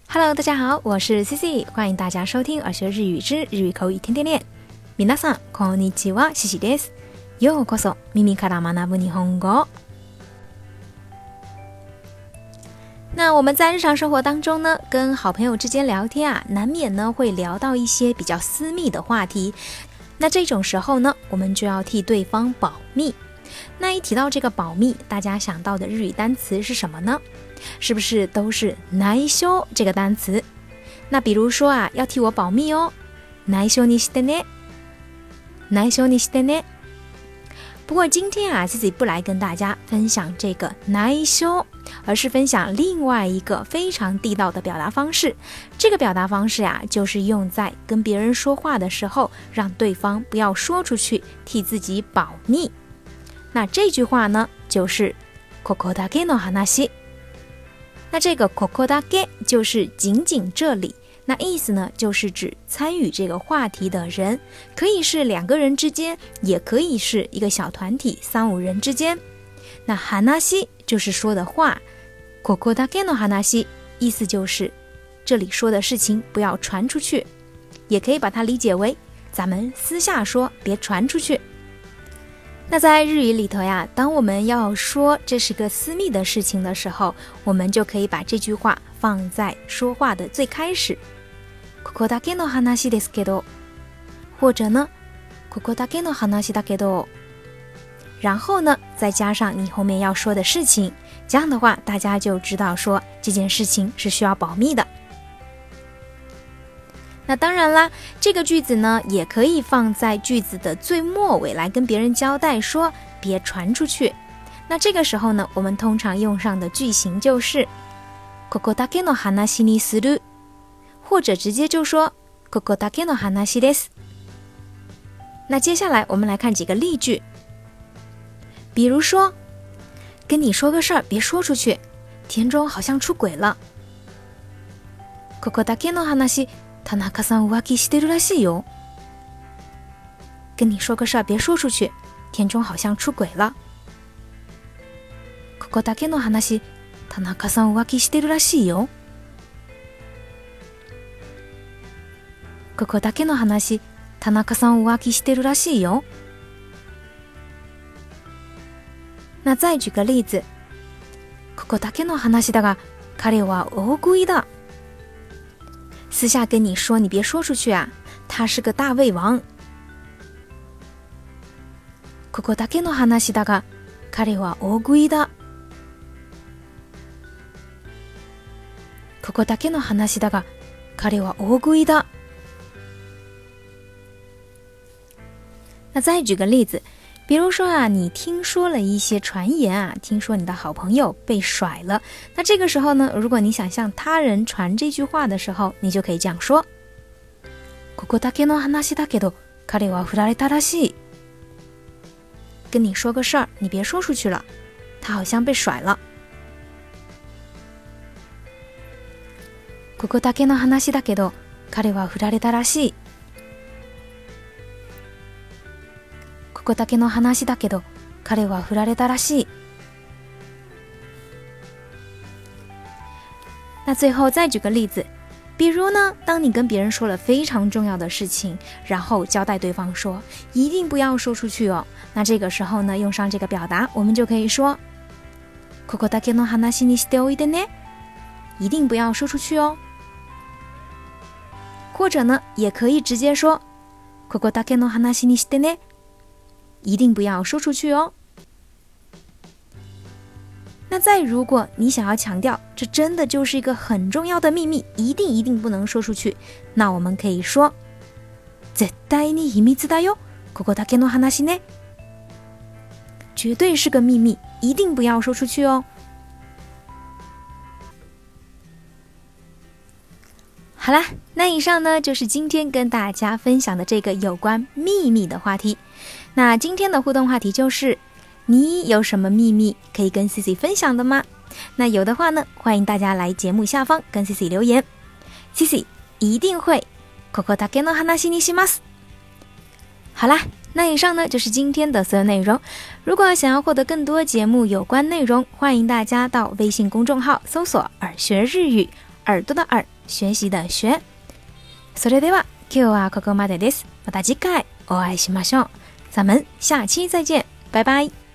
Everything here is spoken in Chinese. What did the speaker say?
Hello， 大家好，我是 CC， 欢迎大家收听耳学日语之日语口语天天练。皆さんこんにちは、CCです。ようこそ耳から学ぶ日本語。那我们在日常生活当中呢，跟好朋友之间聊天啊，难免呢会聊到一些比较私密的话题。那这种时候呢，我们就要替对方保密。那一提到这个保密，大家想到的日语单词是什么呢？是不是都是内緒这个单词？那比如说啊，要替我保密哦，内緒にしてね，内緒にしてね。不过今天啊，自己不来跟大家分享这个内緒，而是分享另外一个非常地道的表达方式。这个表达方式啊，就是用在跟别人说话的时候，让对方不要说出去，替自己保密。那这句话呢，就是ここだけの話。那这个ここだけ就是仅仅这里，那意思呢，就是指参与这个话题的人，可以是2个人之间，也可以是一个小团体3、5人之间。那話就是说的话，ここだけの話意思就是这里说的事情不要传出去，也可以把它理解为咱们私下说，别传出去。那在日语里头呀，当我们要说这是个私密的事情的时候，我们就可以把这句话放在说话的最开始，ここだけの話ですけど，或者呢，ここだけの話だけど，然后呢，再加上你后面要说的事情，这样的话，大家就知道说这件事情是需要保密的。那当然啦，这个句子呢，也可以放在句子的最末尾来跟别人交代说别传出去。那这个时候呢，我们通常用上的句型就是ここだけの話にする，或者直接就说ここだけの話です。那接下来我们来看几个例句，比如说，跟你说个事儿，别说出去，田中好像出轨了。ここだけの話田中さん浮気してるらしいよ。跟你说个事儿，别说出去，田中好像出轨了。ここだけの話、田中さん浮気してるらしいよ。ここだけの話、田中さん浮気してるらしいよ。那再举个例子，ここだけの話だが、彼は大食いだ。私下跟你说，你别说出去啊，他是个大胃王。ここだけの話だが、彼は大食いだ。ここだけの話だが、彼は大食いだ。那再举个例子，比如说啊，你聽說了一些傳言啊，聽說你的好朋友被甩了，那這個時候呢，如果你想向他人傳這句話的時候，你就可以這樣說，ここだけの話だけど、彼は振られたらしい。跟你說個事兒，你別說出去了，他好像被甩了。ここだけの話だけど、彼は振られたらしい。ここだけの話だけど、彼は振られたらしい。那最后再举个例子，比如呢，当你跟别人说了非常重要的事情，然后交代对方说一定不要说出去哦，那这个时候呢，用上这个表达，我们就可以说ここだけの話にしておいてね，一定不要说出去哦。或者呢，也可以直接说ここだけの話にしてね，一定不要说出去哦。那再如果你想要強調這真的就是一個很重要的秘密，一定不能說出去，那我們可以說絶対に秘密だよ、ここだけの話ね。絕對是個秘密，一定不要說出去哦。好啦，那以上呢就是今天跟大家分享的这个有關秘密的話題。那今天的互動話題就是你有什麼秘密可以跟 CC 分享的嗎？那有的話呢，歡迎大家來節目下方跟 CC 留言， CC 一定會ここだけの話にします。好啦，那以上呢就是今天的所有内容。如果想要獲得更多節目有關內容，歡迎大家到微信公眾號搜索耳學日語耳朵的耳，学习的学。それでは今日はここまでです。また次回お会いしましょう。咱们下期再见，拜拜。